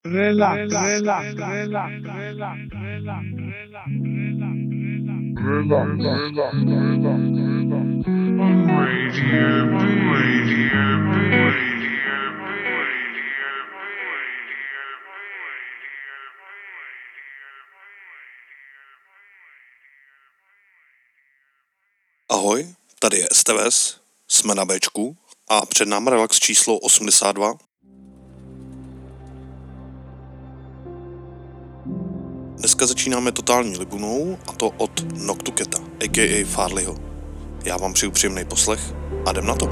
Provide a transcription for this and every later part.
Relax. Ahoj, tady je STVS, jsme na Bčku a před námi relax číslo 82. Dneska začínáme totální libunou, a to od Noctuketa, a.k.a. Farleyho. Já vám přeju příjemný poslech a jdem na to.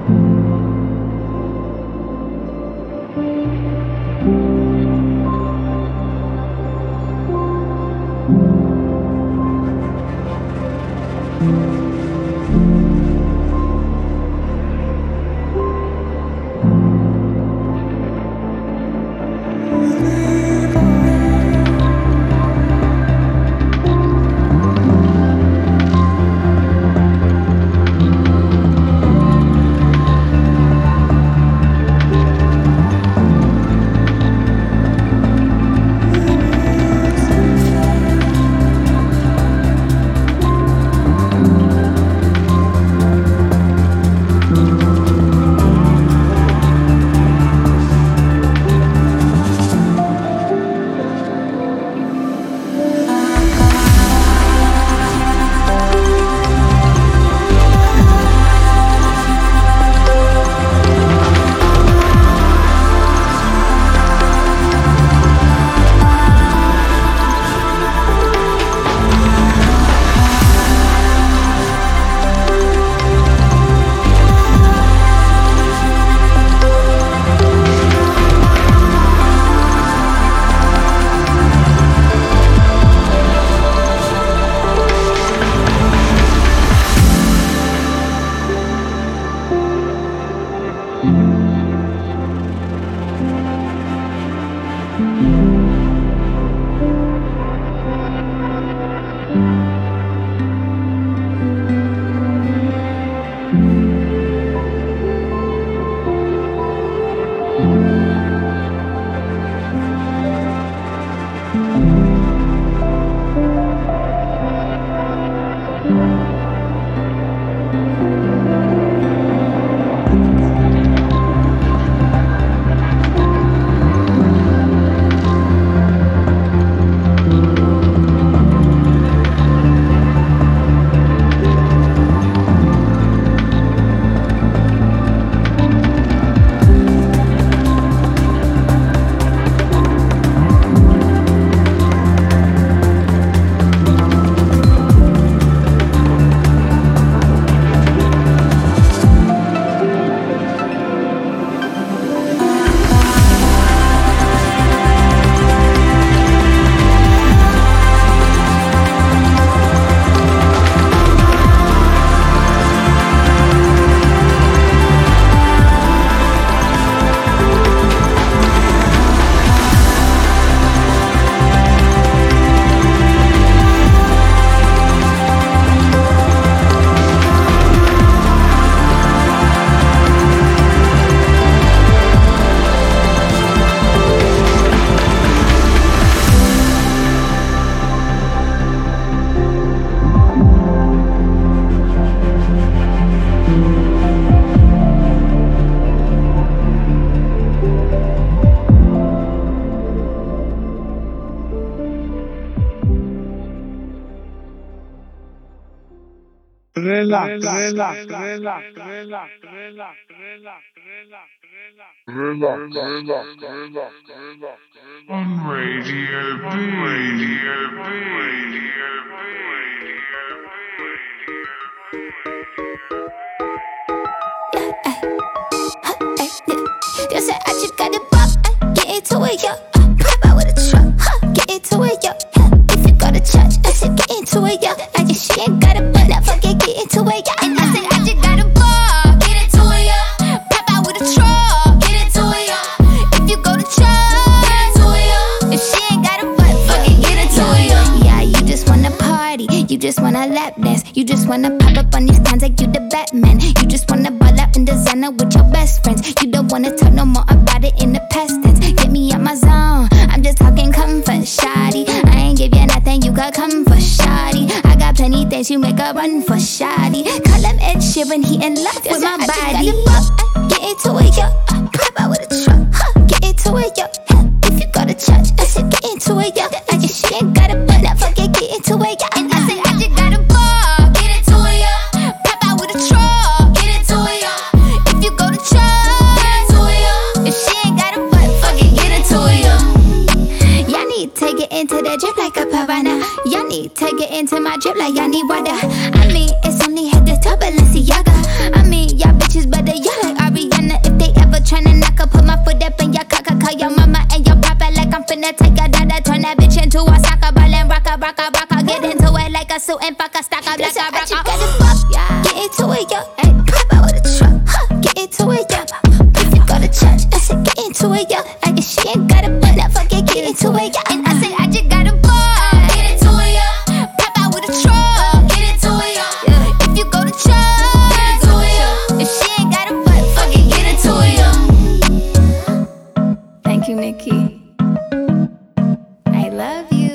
Relax. On Radio You said I just got the buck, get into it, yo. Pop out with a truck, get into it, yo. If you go to church, I said get into it, yo. I just she ain't got a butt, now forget get into it, yo. And I said I just got a buck, get into it, yo. Pop out with a truck, get into it, yo. If you go to church, get into it, yo. If she ain't got a butt, forget get into it, yo. Yeah, you just wanna party, you just wanna lap dance, you just wanna pop up on these cons like you the Batman. You just wanna ball out in designer with your best friends. You don't wanna talk no more about it in the past tense. Get me out my zone, face, you make a run for shoddy. Call him Ed Sheeran, he in love with my body. Get into it, yo. Pop out with a truck, get into it, yo. If you go to church, I said get into it, yo. I guess she ain't got a butt, now forget get into it, yo. And I said I just got a ball, get into it, yo. Pop out with a truck, get into it, yo. If you go to church, get into it, yo. If she ain't got a butt, forget get into it, yo. Y'all need to get into that drip like a piranha. Y'all need to get into my drip like y'all need water. I mean, it's only head to toe Balenciaga. I mean, y'all bitches better y'all like Ariana. If they ever tryna knock her, put my foot up in your cock. Call your mama and your papa like I'm finna take a dada. Turn that bitch into a soccer ball and rock. Get into it like a suit and fuck a stock up like a rock. You gotta fuck, get into it, yo. Hey, pop out with a truck, get into it, yo. If you go to church, I said get into it, yo. I guess she ain't got a butt, now forget get into it, yo. And I said I just got a ball, get into it, yo. Pop out with a truck, get into it, yo. If you go to church, get into it, yo. If she ain't got a butt, forget get into it, yo. Thank you, Nikki. I love you.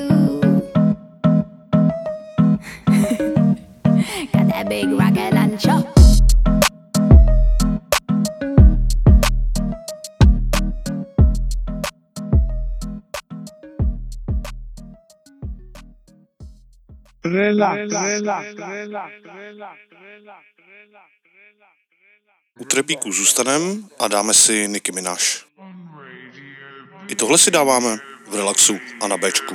Got that big rocket launcher. U trepíku zůstanem a dáme si Nicki Minaj. I tohle si dáváme v relaxu a na Bčku.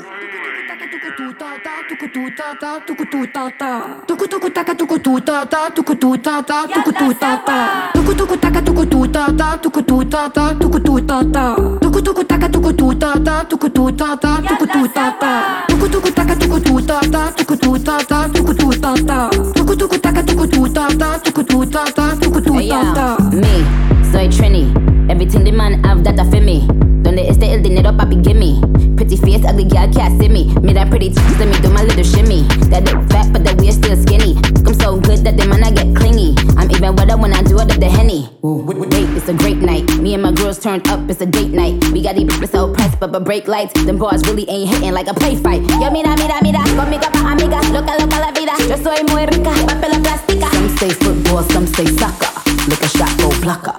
Me, soy Trini. Everything the man have that I feel me. Donde esté el dinero, papi, gimme. Pretty face, ugly girl can't see me. Me that pretty tits, let me do my little shimmy. That look fat, but the waist still skinny. I'm so good that the man I get clingy. I'm even wetter when I do it up the Henny. Wait, it's a great night. Me and my girls turned up, it's a date night. We got these bitches so pressed, but break lights. Them bars really ain't hitting like a play fight. Yo, mira, conmigo pa' amiga. Loca la vida. Yo soy muy rica, papel la plástica. Some say football, some say soccer. Look a shot, go plucker.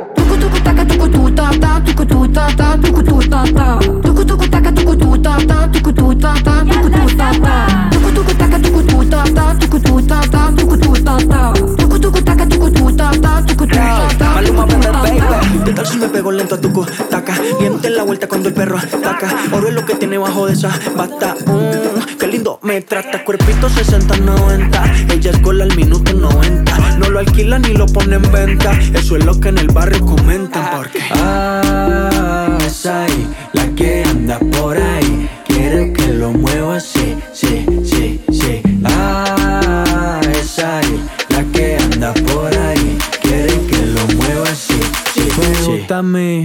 Maluma, baby, ¿qué tal si me pego lento a tu taca? Miente la vuelta cuando el perro ataca. Oro es lo que tiene bajo de esa bata. Qué lindo me trata, cuerpito 60-90. Ella es gol al minuto 90. No lo alquila ni lo pone en venta. Eso es lo que en el barrio comentan. Porque es ahí la que anda por ahí. Quiere que lo mueva así, sí. Es ahí la que anda por ahí. Quiere que lo mueva así, sí. Me gusta a mí.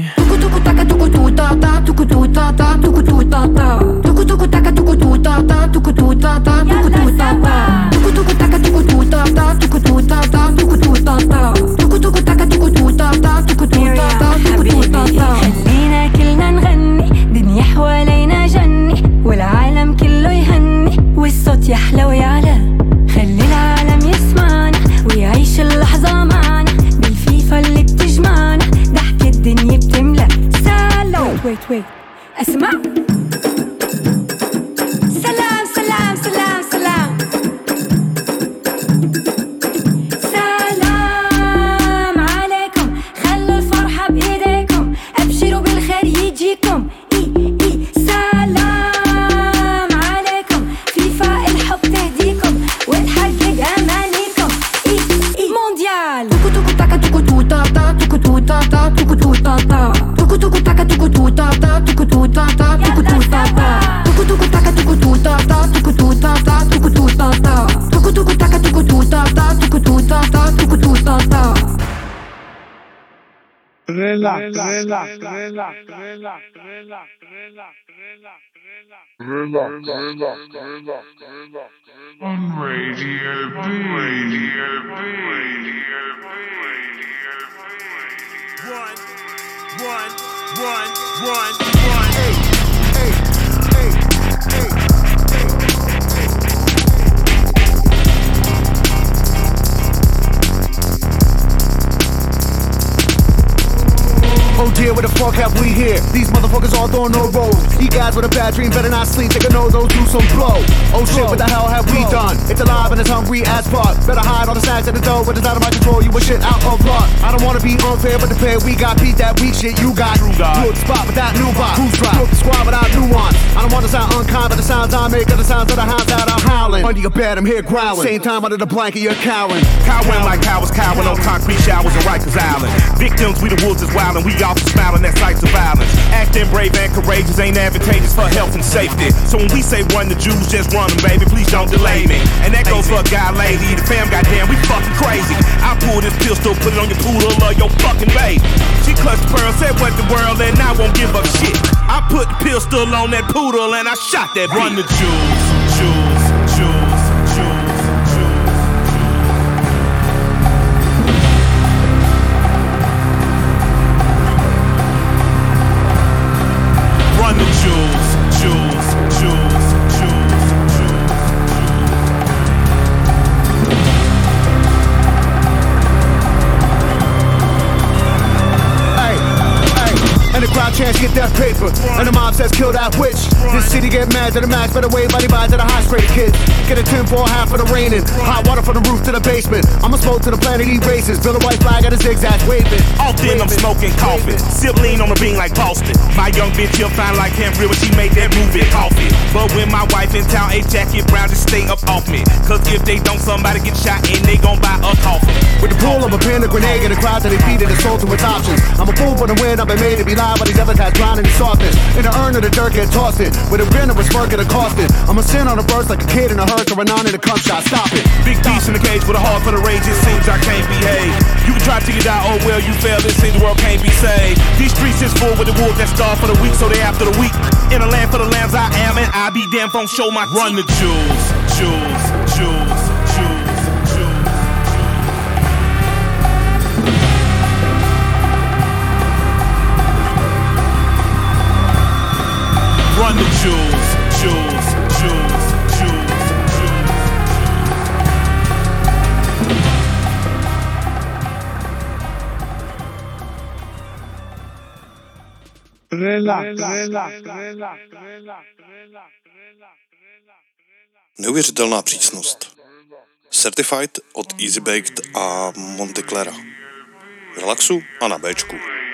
خلينا كلنا نغني دنيا حوالينا جني والعالم كله يهني والصوت يحلى ويعلى خلي العالم يسمعنا ويعيش اللحظة معنا بالفيفا اللي بتجمعنا ضحك الدنيا بتملى سالو ويت اسمع سلام سلام سلام سلام سلام عليكم خلوا الفرحة بإيديكم أبشروا بالخير يجيكم سلام عليكم فيفا الحب تهديكم وتحقق أمانيكم مونديال On Radio B. One. have we here? These motherfuckers all throwing no rolls. You guys with a bad dream better not sleep. Take a no, those do some blow. Oh shit, what the hell have we done? It's alive and it's hungry as fuck. Better hide all the snacks at the door, but it's out of my control. You a shit out of luck. I don't wanna be unfair, but the pair we got beat that weak shit you got. You at the spot with that new vibe. Who's drop? You at the squad without nuance. I don't wanna sound unkind, but the sounds I make are the sounds of the hounds that I'm howling. Under your bed, I'm here growling. Same time under the blanket, you're cowering. Cowering like cowards, cowering on concrete showers in Rikers Island. Victims, we the wolves is wildin', we all smiling at sights of violence. Acting brave and courageous ain't advantageous for health and safety. So when we say run the Jews, just run them, baby, please don't delay me. And that goes for a guy, lady, the fam, goddamn, we fucking crazy. I pull this pistol, put it on your poodle or your fucking baby. She clutched the pearl, said what the world, and I won't give up shit. I put the pistol on that poodle and I shot that bitch. Run the Jews, Jews, Jews, Jews, Jews. Run the Jews, Jews, Jews, Jews, Jews. And the crowd chants, get that paper. And the mob says, kill that witch. This city get mad to the max, better wave body by to the high straight kids. Get a 10 for half of the raining. Hot water from the roof to the basement. I'ma smoke to the planet, eat races. Build a white flag at a zigzag, waving. Often I'm smoking coffee. Sip lean on the bean like Boston. My young bitch, he'll find like him real when she made that movie coffee. But when my wife in town, a jacket brown, just stay up off me. Cause if they don't, somebody get shot and they gon' buy a coffin. With the pull of a pin, a grenade, and a crowd that they feed it, assault to its options. I'm a fool for the win, I've been made to be live, but these other guys drowning in softness. In the urn of the dirt, get tossed in. With a grin of a smirk and a cost it. I'm a sin on a burst like a kid in a hearse or a non in a cum shot. Stop it. Big beast in the cage with a heart for the rage, it seems I can't behave. You can try to get out, oh well, you failed, it seems the world can't be saved. These streets is full with the wolves that starve for the weak, so they after the weak. In a land for the lambs I am, and I be damn phone show my teeth. Run the Jews, Jews, Jews, Jews, Jews. Run the Jews, Jews, Jews, Jews, Jews. Neuvěřitelná přísnost. Certified od Easy Baked a Monteclera. V relaxu a na Bčku.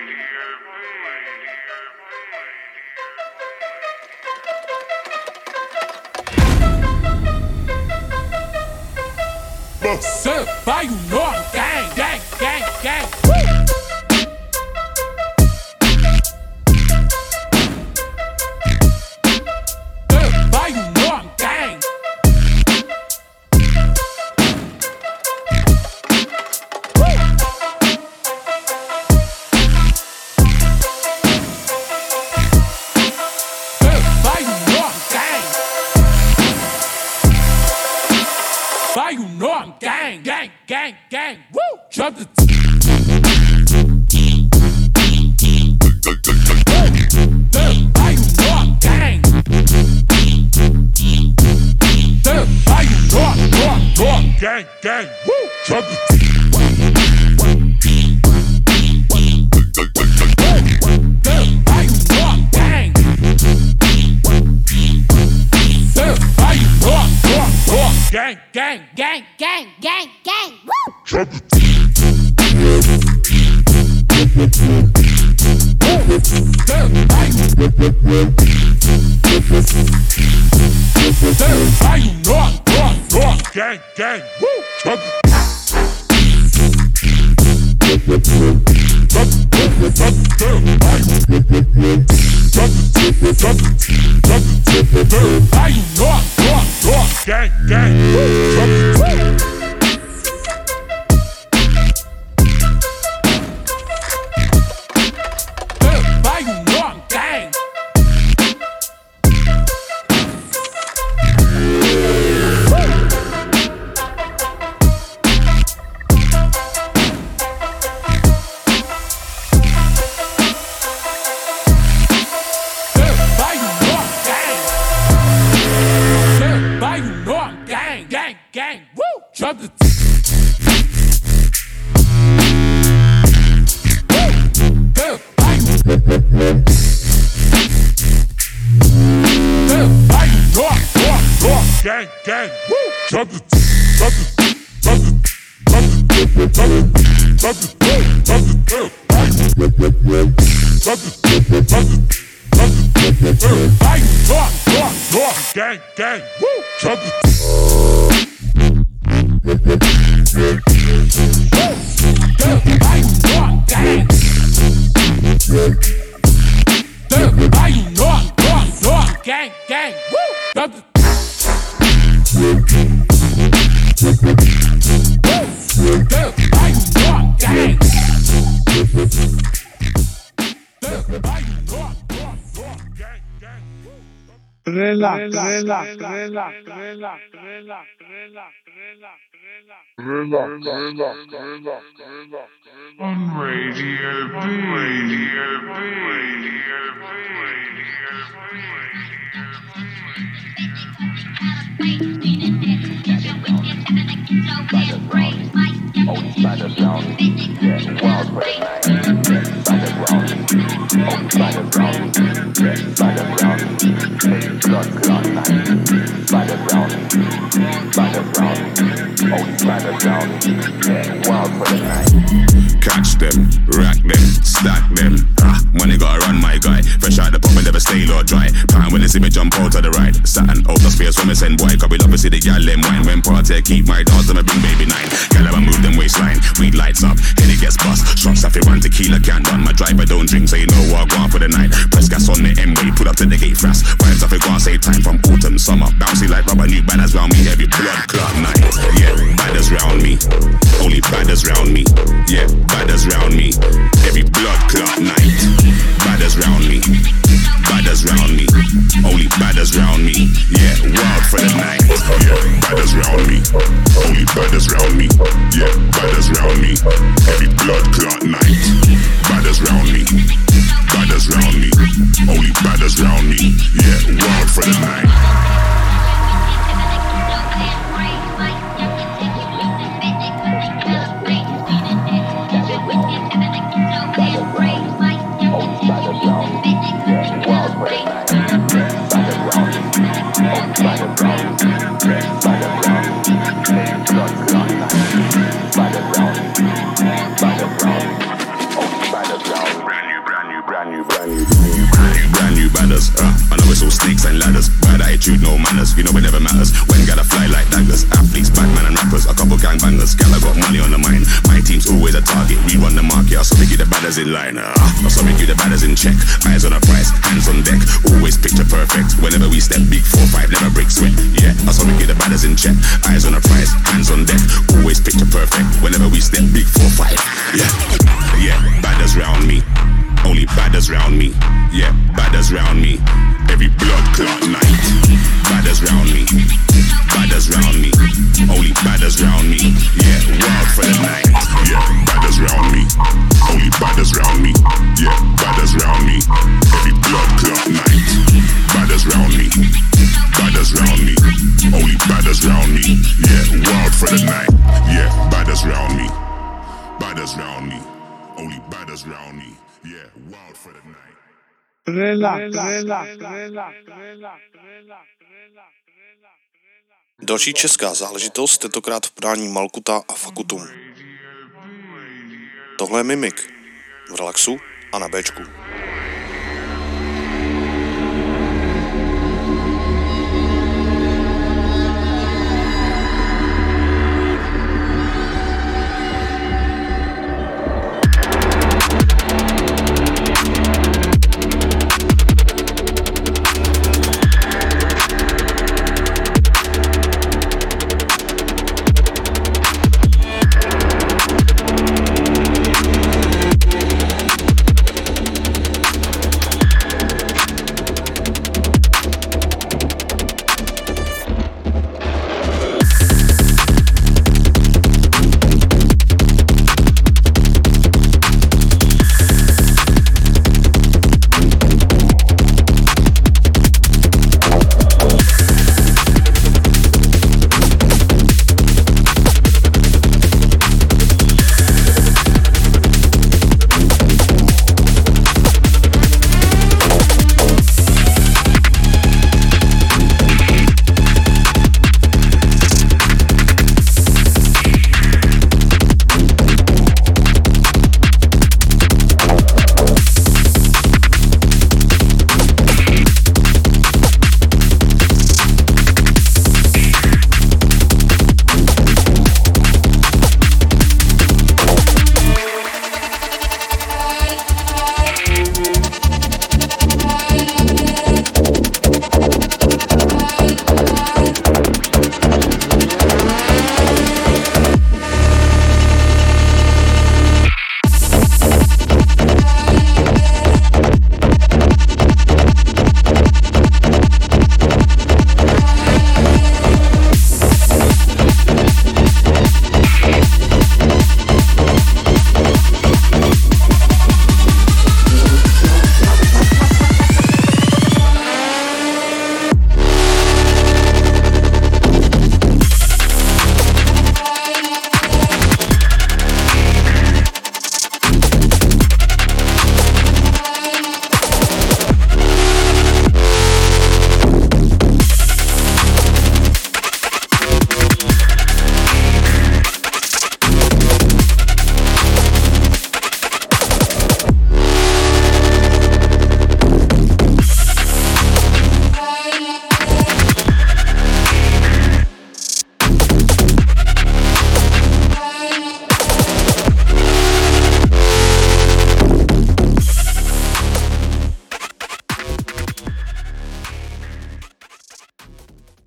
Certified, you know I'm gang, gang, gang, gang. Certified, you know I'm gang. Certified, you know I'm gang. Certified, you know I'm gang, gang, gang, gang. Woo! Drop the Certified, you know I'm gang. Certified, you know I'm gang, gang. Woo! Drop the Certified, you know I'm gang. Certified, you know I'm gang, gang, gang, gang, gang, gang. Woo! Drop the Certified, you know I'm gang, gang. Woo! Drop the gang, gang. Certified, you know I'm gang. Gang, gang, woo! Drop the Woo! Certified, gang, gang. Woo! Drop the, drop the, drop the, drop the, drop the, drop the, drop the, drop the, gang, gang. Woo! Drop the. Gang, gang, woo! Drop the. On Radio Catch them, rack them, stack them. Money gotta run, my guy. Fresh out the pop and never stay or dry. Time when they see me jump out of the ride. Saturn out the space when me send boy. Cause we love to see the gal them wine. When party keep my dogs and I bring baby 9. Gal ever move them waistline. Weed lights up, head it gets bust. Shots off it run, tequila can't run. My driver don't drink, so you know what I go on for the night. Press gas on the M-way, put up to the gate fast. Vibes off it go on, save time from autumn, summer. Bouncy like rubber, new banners round me. Every blood clot night. Yeah, badders round me. Only badders round me. Yeah, badders round me. Every blood clot night. Badders round me. Badders round me. Only badders round me. Yeah, wild for the night. Yeah, badders round me. Only badders round me. Yeah, badders round me. Every blood clot night. Badders round me. Badders round me. Only badders round me. Yeah, wild for the night. Brand new badders, I know it's all snakes and ladders. Bad attitude, no manners, you know it never matters. When gotta fly like daggers, athletes, Batman and rappers, a couple gangbangers. Gala got money on the mind, my team's always a target. We run the market, I saw me keep the badders in line. I saw me keep the badders in check. Eyes on the price, hands on deck, always picture perfect. Whenever we step, big 4-5, never break sweat. Yeah, I saw me keep the badders in check. Eyes on the price, hands on deck, always picture perfect. Whenever we step, big 4-5. Yeah, badders round me. Only badders round me. Yeah, badders round me. Every blood clot night. Badders round me. Badders round me. Only badders round me. Yeah, wild for the night. Yeah, badders round me. Only badders round me. Yeah, badders round me. Every blood clot night. Badders round me. Badders round me. Only badders round me. Yeah, wild for the night. Yeah, badders round me. Badders round me. Only badders round me. Yeah, wild for the night. Další česká záležitost, tentokrát v podání Malkuta a Fakutum. Tohle je Mimik. V relaxu a na Bčku.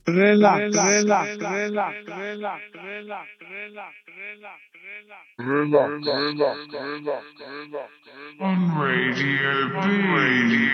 On Radio B.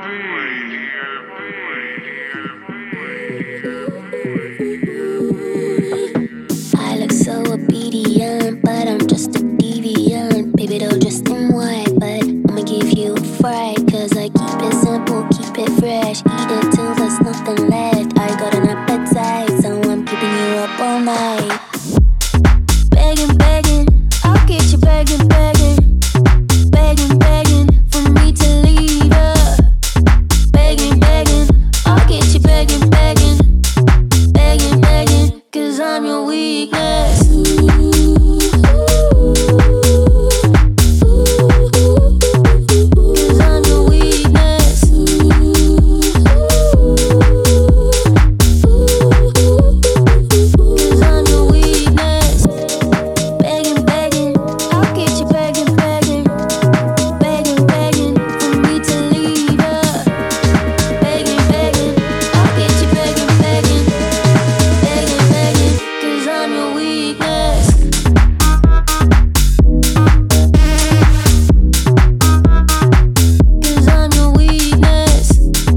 I look so obedient, but I'm just a deviant. Baby, don't dress in white, but I'ma give you a fright. Cause I keep it simple, keep it fresh. Eat it till there's nothing left. I got an appetite, so I'm keeping you up all night. Begging, begging, I'll get you begging, begging. Begging, begging for me to leave her. Begging, begging, I'll get you begging, begging. Begging, begging, cause I'm your weakness. Cause I'm your weakness. Cause I'm your weakness. Begging, begging, I'll get you begging, begging. Begging, begging for me to leave her. Begging, begging, I'll get you begging, begging. Begging, begging, cause I'm your weakness. Cause I'm your weakness.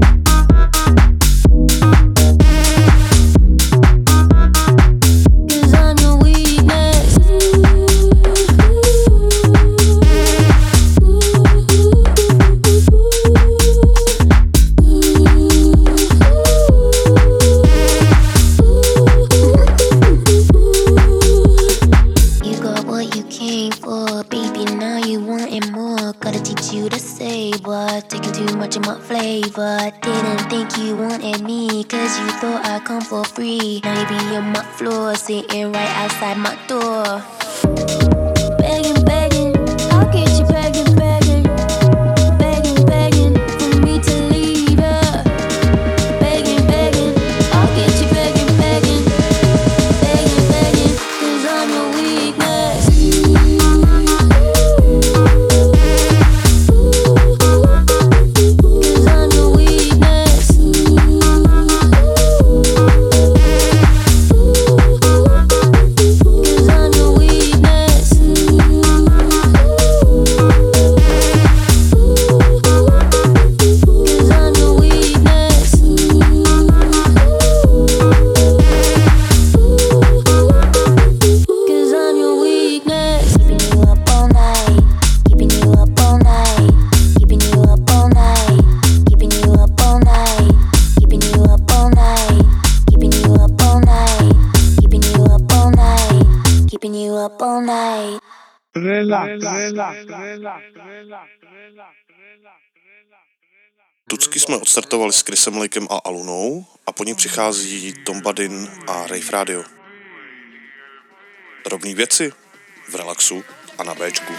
Cause I'm your weakness. You got what you came for, baby, now you wanting more. Gotta teach you to say what, taking too much of my flavor. Didn't think you wanted me, cause you thought I'd come for free. Now you be on my floor, sitting right outside my door. Begging, begging, I'll get you begging, begging. Begging, begging for me to leave her. Begging, begging, I'll get you begging, begging. Begging, begging, cause I'm your weakness. Cause I'm your weakness. Cause I'm your weakness. Cause I'm your weakness. Cause I'm your weakness. Keeping you up all night. Keeping you up all night. Keeping you up all night. Keeping you up all night. Keeping you up all night. Keeping you up all night. Keeping you up all night. Keeping you up all night. Tucky jsme odstartovali s Chrisem Lakem a Alunou a po ní přichází Tom Badin a Rave Radio. Drobný věci v relaxu a na Bčku.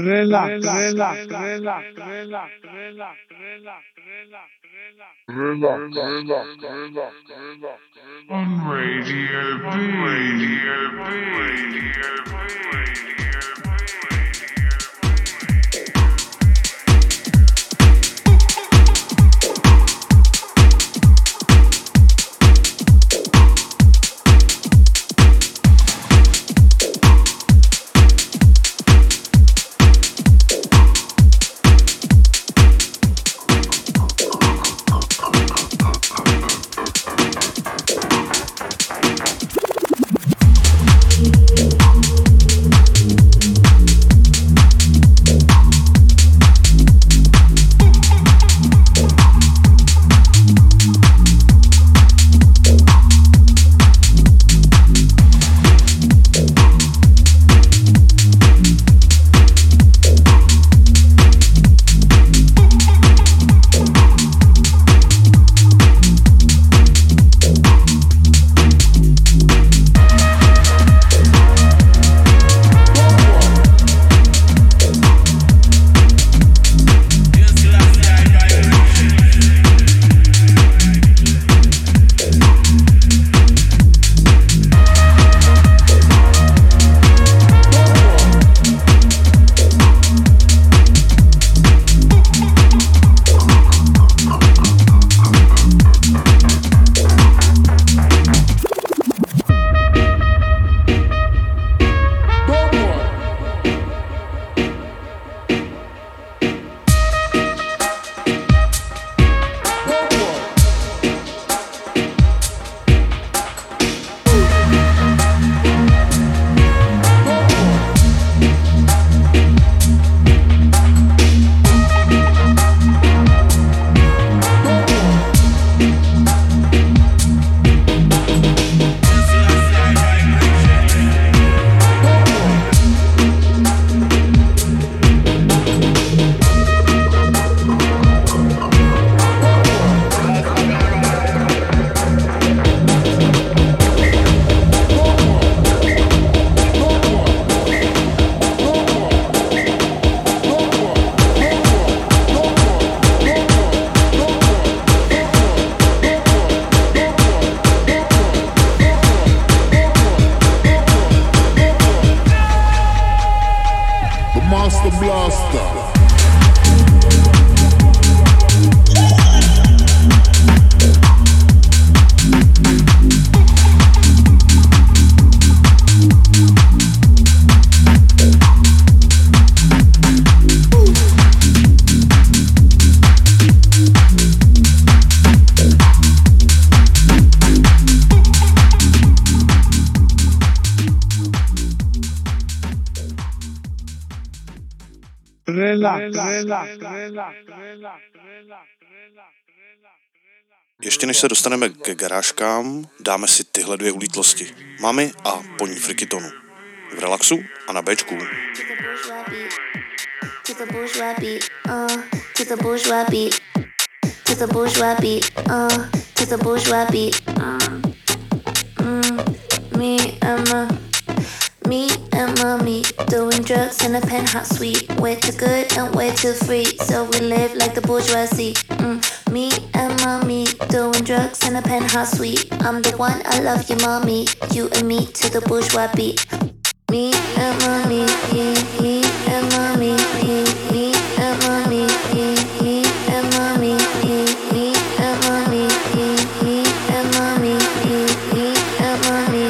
Ještě než se dostaneme ke garážkám, dáme si tyhle dvě ulítlosti. Mami a Poní Frikitonu. V relaxu a na Bčku. To the bourgeois beat, to the bourgeois beat, to the bourgeois beat, to the bourgeois beat. Me and mommy doing drugs in a penthouse suite. We're too good and we're too free, so we live like the bourgeoisie. Me and mommy doing drugs in a penthouse suite. I'm the one, I love you, mommy. You and me to the bourgeois beat. Me and mommy, me and mommy, me and mommy, me and mommy, me and mommy, me and mommy, me and mommy.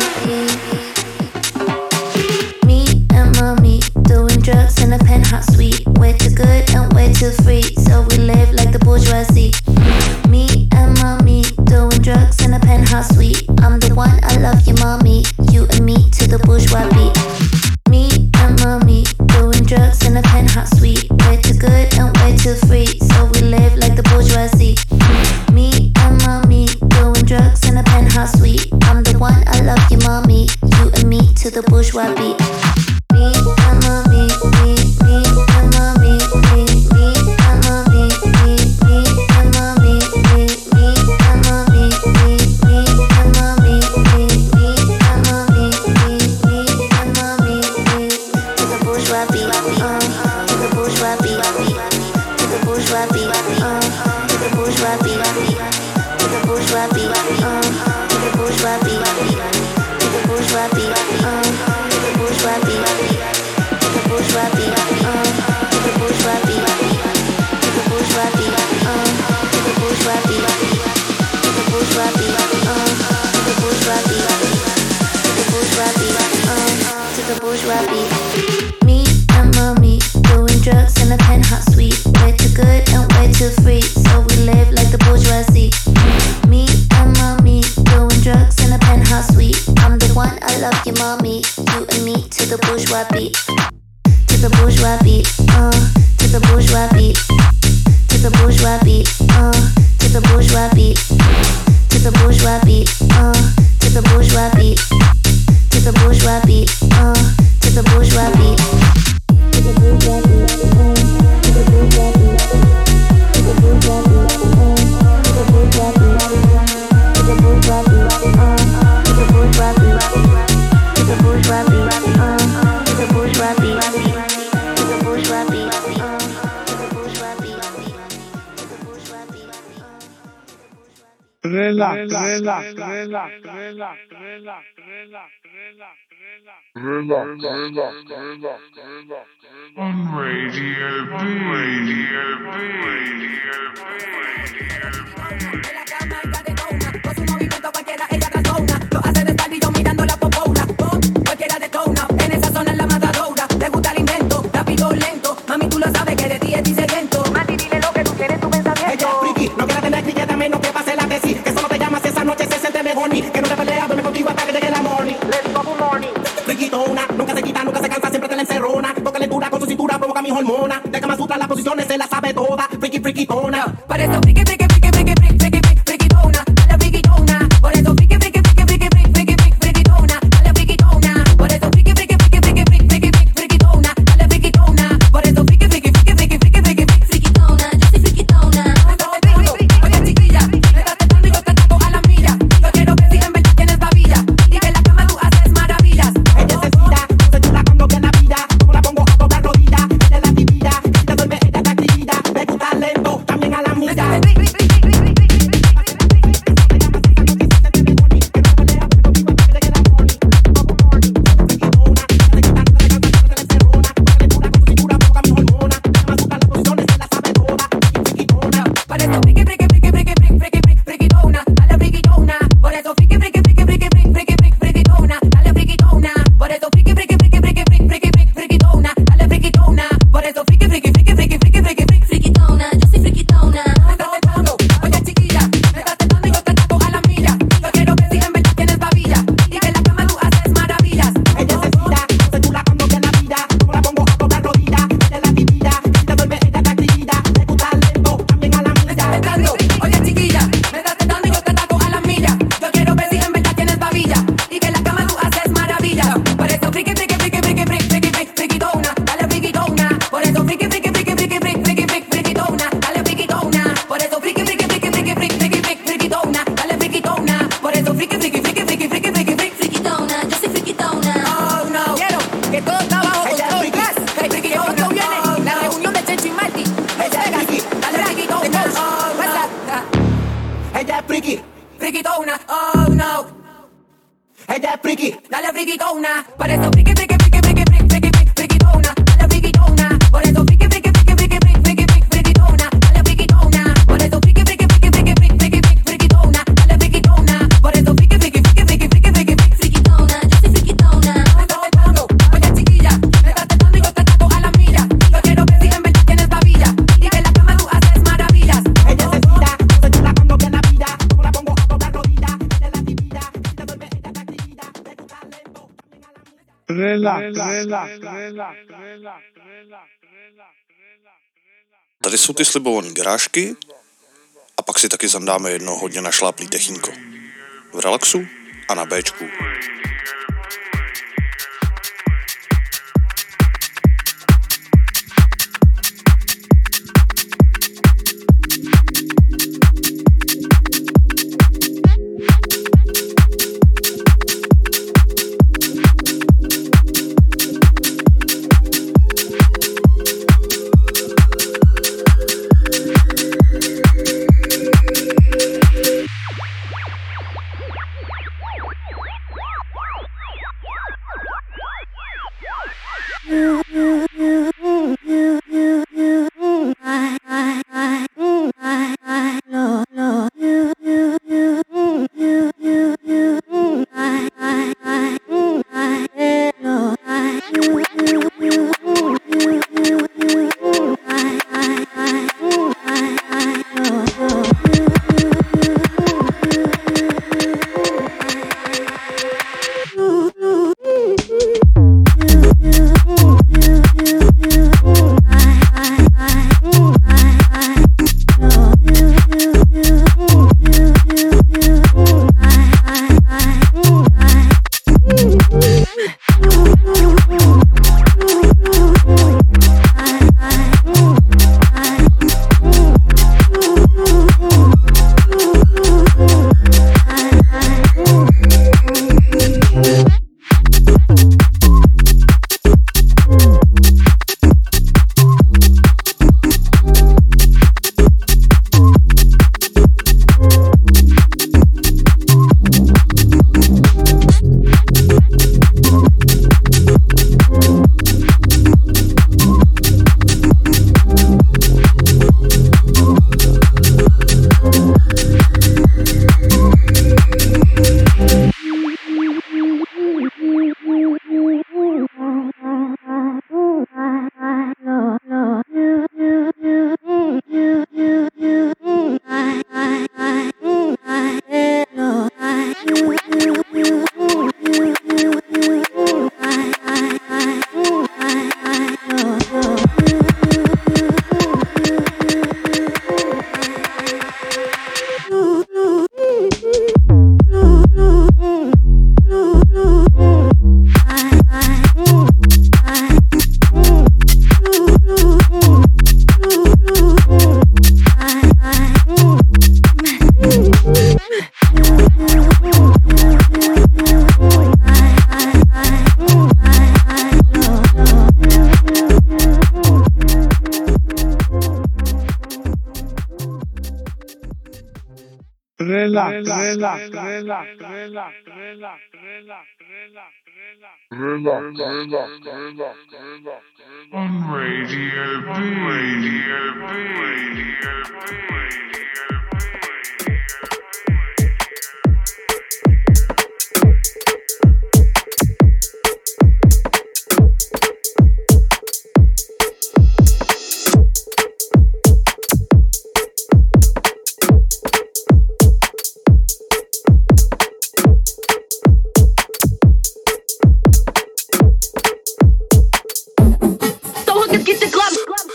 Me and mommy doing drugs in a penthouse suite. We're too good and we're too free, so we live like the bourgeoisie. Me and mommy doing drugs in a penthouse suite. I'm the one, I love you, mommy. You and me to the bourgeois beat. Me and mommy doing drugs in a penthouse suite. We're too good and we're too free, so we live like the bourgeoisie. Me and mommy doing drugs in a penthouse suite. I'm the one, I love you, mommy. You and me to the bourgeois beat. Me and mommy, me and mommy, me and mommy, me and mommy, me and mommy, me and mommy, me and mommy, me and mommy, to the bourgeois beat. to the bourgeois beat, to the bourgeois beat, to the bourgeois beat, to the bourgeois beat, to the bourgeois beat, to the bourgeois beat, to the bourgeois beat, to the bourgeois beat, to the bourgeois beat, to the bourgeois beat, to the bourgeois beat, to the bourgeois beat, to the bourgeois beat, to the bourgeois beat, to the bourgeois beat, to the bourgeois beat. On Radio Mami, tú lo sabes que de ti es disegento. Mati, dile lo que tú quieres, tu pensamiento. Ella es friki, no quiere tener cliente a menos que pase la tesis. Que solo te llamas esa noche se siente mejor ni. Que no te peleas, duerme contigo hasta que llegue la morning. Let's go, good morning. Friquitona, nunca se quita, nunca se cansa, siempre te la encerrona. Toca lectura con su cintura, provoca mi hormona. De Kama Sutra las posiciones se las sabe toda. Friki, friquitona. Por eso friki, friki, friki, friki, friki, friki, friquitona. Dale friquitona. Por eso friki, friki, friki, friki, friki, friki, friquitona. Dale friquitona. Por eso friki, friki, friki, friki, friki, friki, friquitona. Dale friquitona. Por eso friki, friki, friki, friki, friki, friki, friquitona. Yo soy friquitona. Oye chiquilla, me estás tentando y yo te trato a la milla. Yo quiero ver si en verdad tienes babilla y que en la cama tú haces maravillas. Ella se tira, se chula cuando viene la vida. Como la pongo a toda rodilla, ella es la divina. Si te duerme ella te activa. Me gusta lento, también a la milla. Tady jsou ty slibované garážky a pak si taky zandáme jedno hodně našláplý techínko. V relaxu a na Bčku. On Radio B. Get the glove.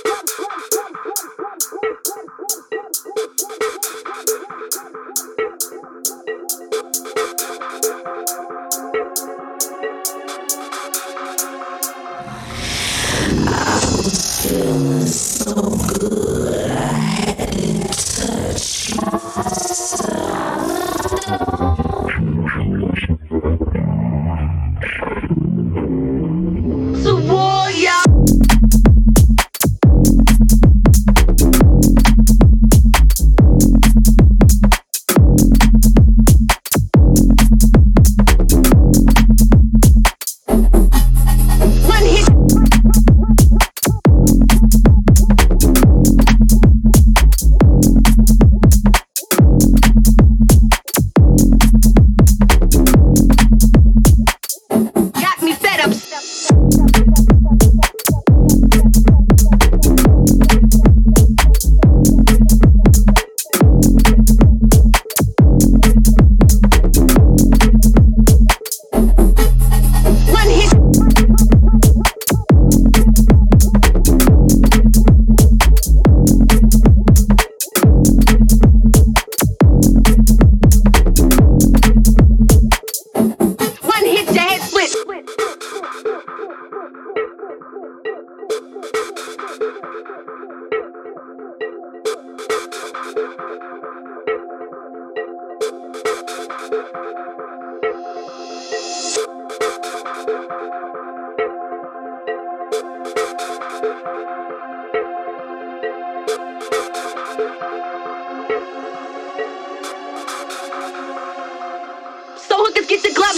Get the glove.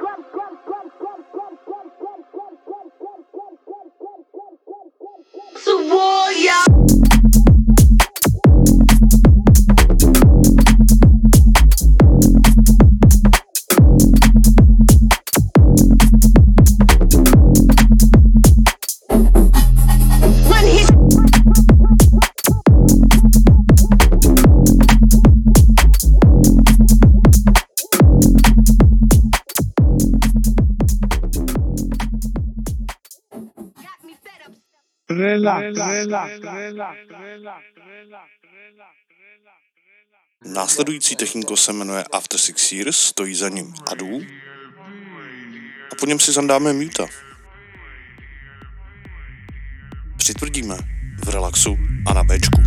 So warrior. Následující techniko se jmenuje After 6 Years, stojí za ním Adu a po něm si zandáme Muta. Přitvrdíme v relaxu a na Bčku.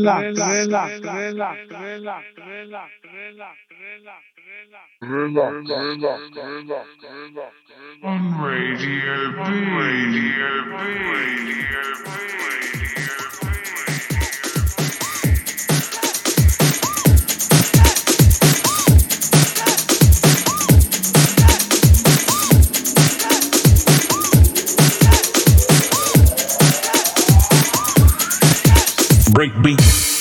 On Radio B. Breakbeat.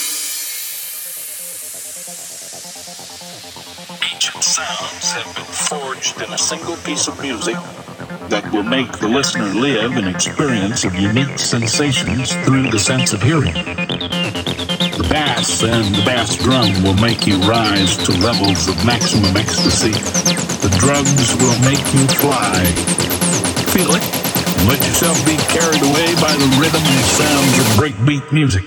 Ancient sounds have been forged in a single piece of music that will make the listener live an experience of unique sensations through the sense of hearing. The bass and the bass drum will make you rise to levels of maximum ecstasy. The drugs will make you fly. Feel it. Let yourself be carried away by the rhythm and sounds of breakbeat music.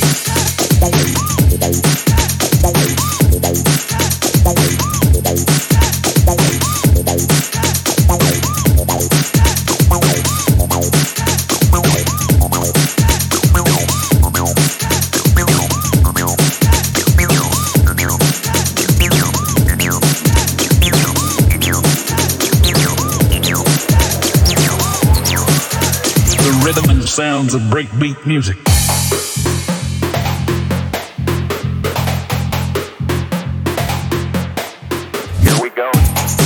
Rhythm and sounds of breakbeat music. Here we go.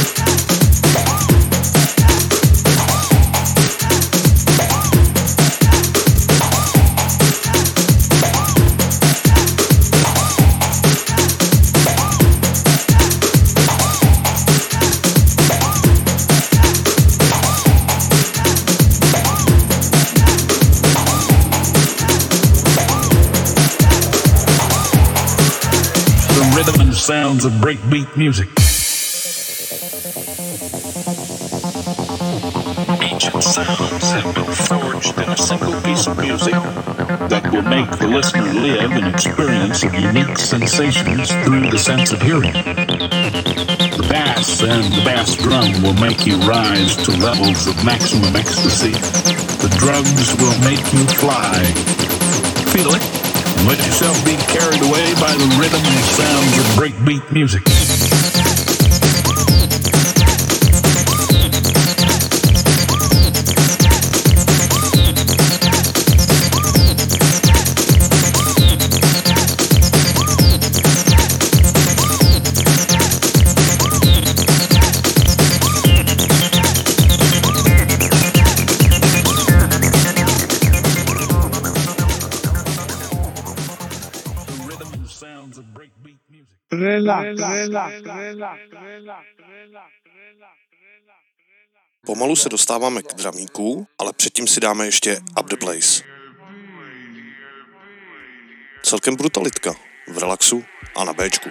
Rhythm and sounds of breakbeat music. Ancient sounds have been forged in a single piece of music that will make the listener live an experience of unique sensations through the sense of hearing. The bass and the bass drum will make you rise to levels of maximum ecstasy. The drugs will make you fly. Feel it. Let yourself be carried away by the rhythm and sounds of breakbeat music. Pomalu se dostáváme k dramíku, ale předtím si dáme ještě Up the Blaze. Celkem brutalitka v relaxu a na Bčku.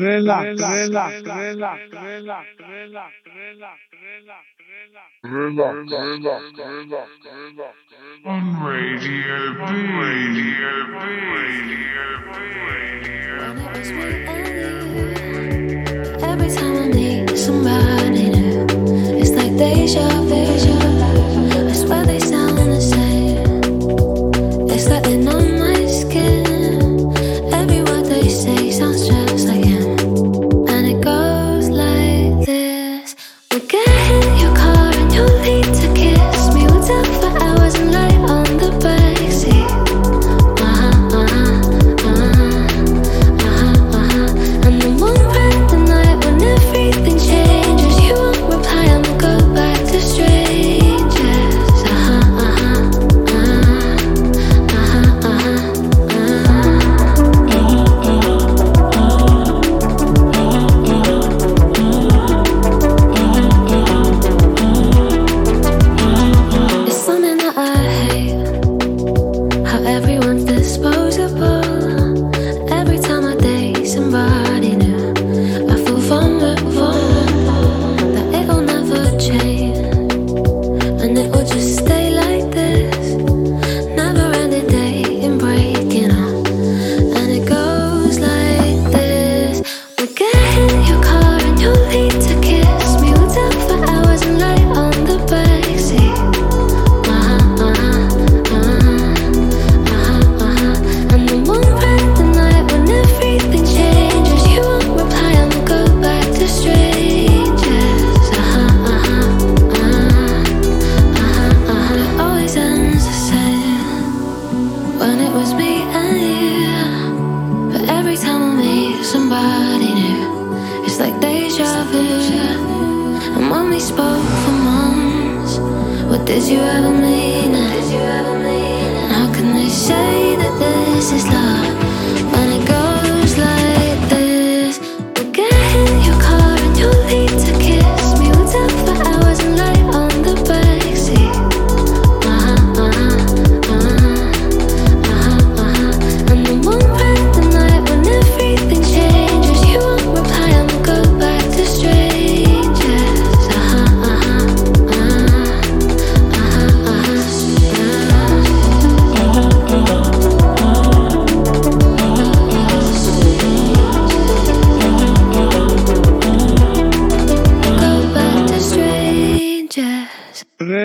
On Radio B. Every time I need somebody new, it's like deja vu. I swear they sound the same. It's like they're on my skin. Every word they say sounds just like him. And it goes like this. We'll get in your car and you'll need to kiss me. We'll talk for hours and lie on the backseat. And then one bright the night when everything changes. You won't reply, I'ma go back to strangers. It's something that I hate, how everyone's disposable. Every time I date somebody new, I feel vulnerable, that it'll never change, and it will just stay like this. Never ending dating, breaking up, and it goes like this. We'll get in your car and you'll need to kiss me. We'll talk for hours and lie on the backseat. And then one bright the night when everything changes. You won't reply, I'ma go back to strangers. It always ends the same when it was me and you. But every time I meet somebody new, it's like deja vu. And when we spoke for months, what did you ever mean? And how can they say that this is love when it goes like this? We'll get in your car and you'll need to kiss me. We'll talk for hours and lie on the backseat. And then one bright the night when everything changes. You won't reply, I'ma go back to strangers. Go back to strangers.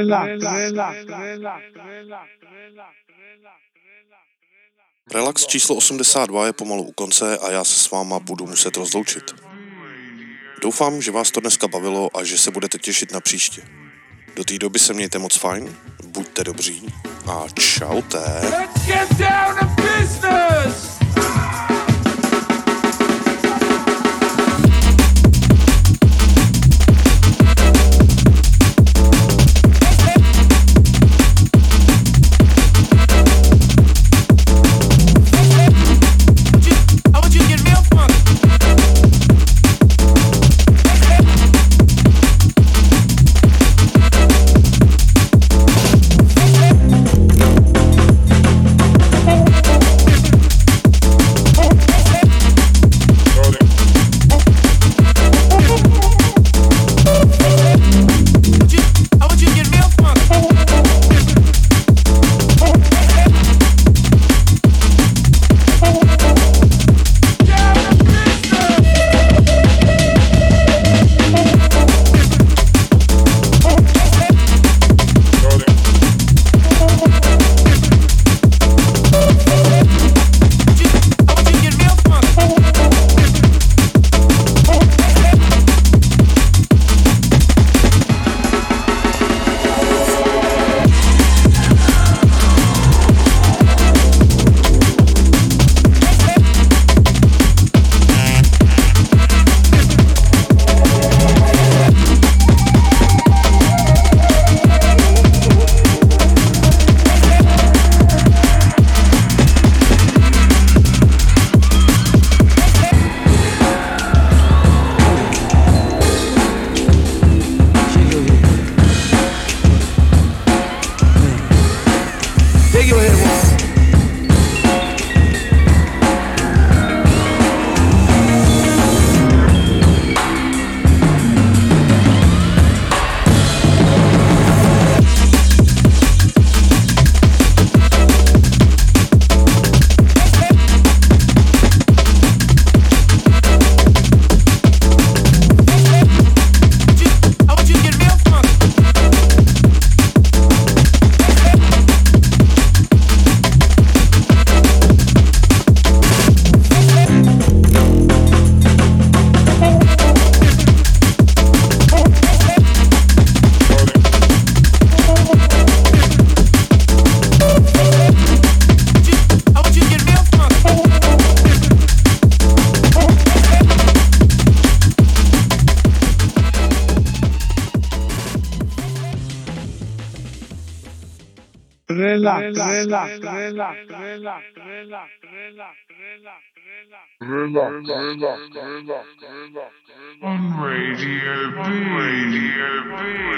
Relax číslo 82 je pomalu u konce a já se s váma budu muset rozloučit. Doufám, že vás to dneska bavilo a že se budete těšit na příště. Do té doby se mějte moc fajn, buďte dobří a čaute. Let's get down to business! On Radio B.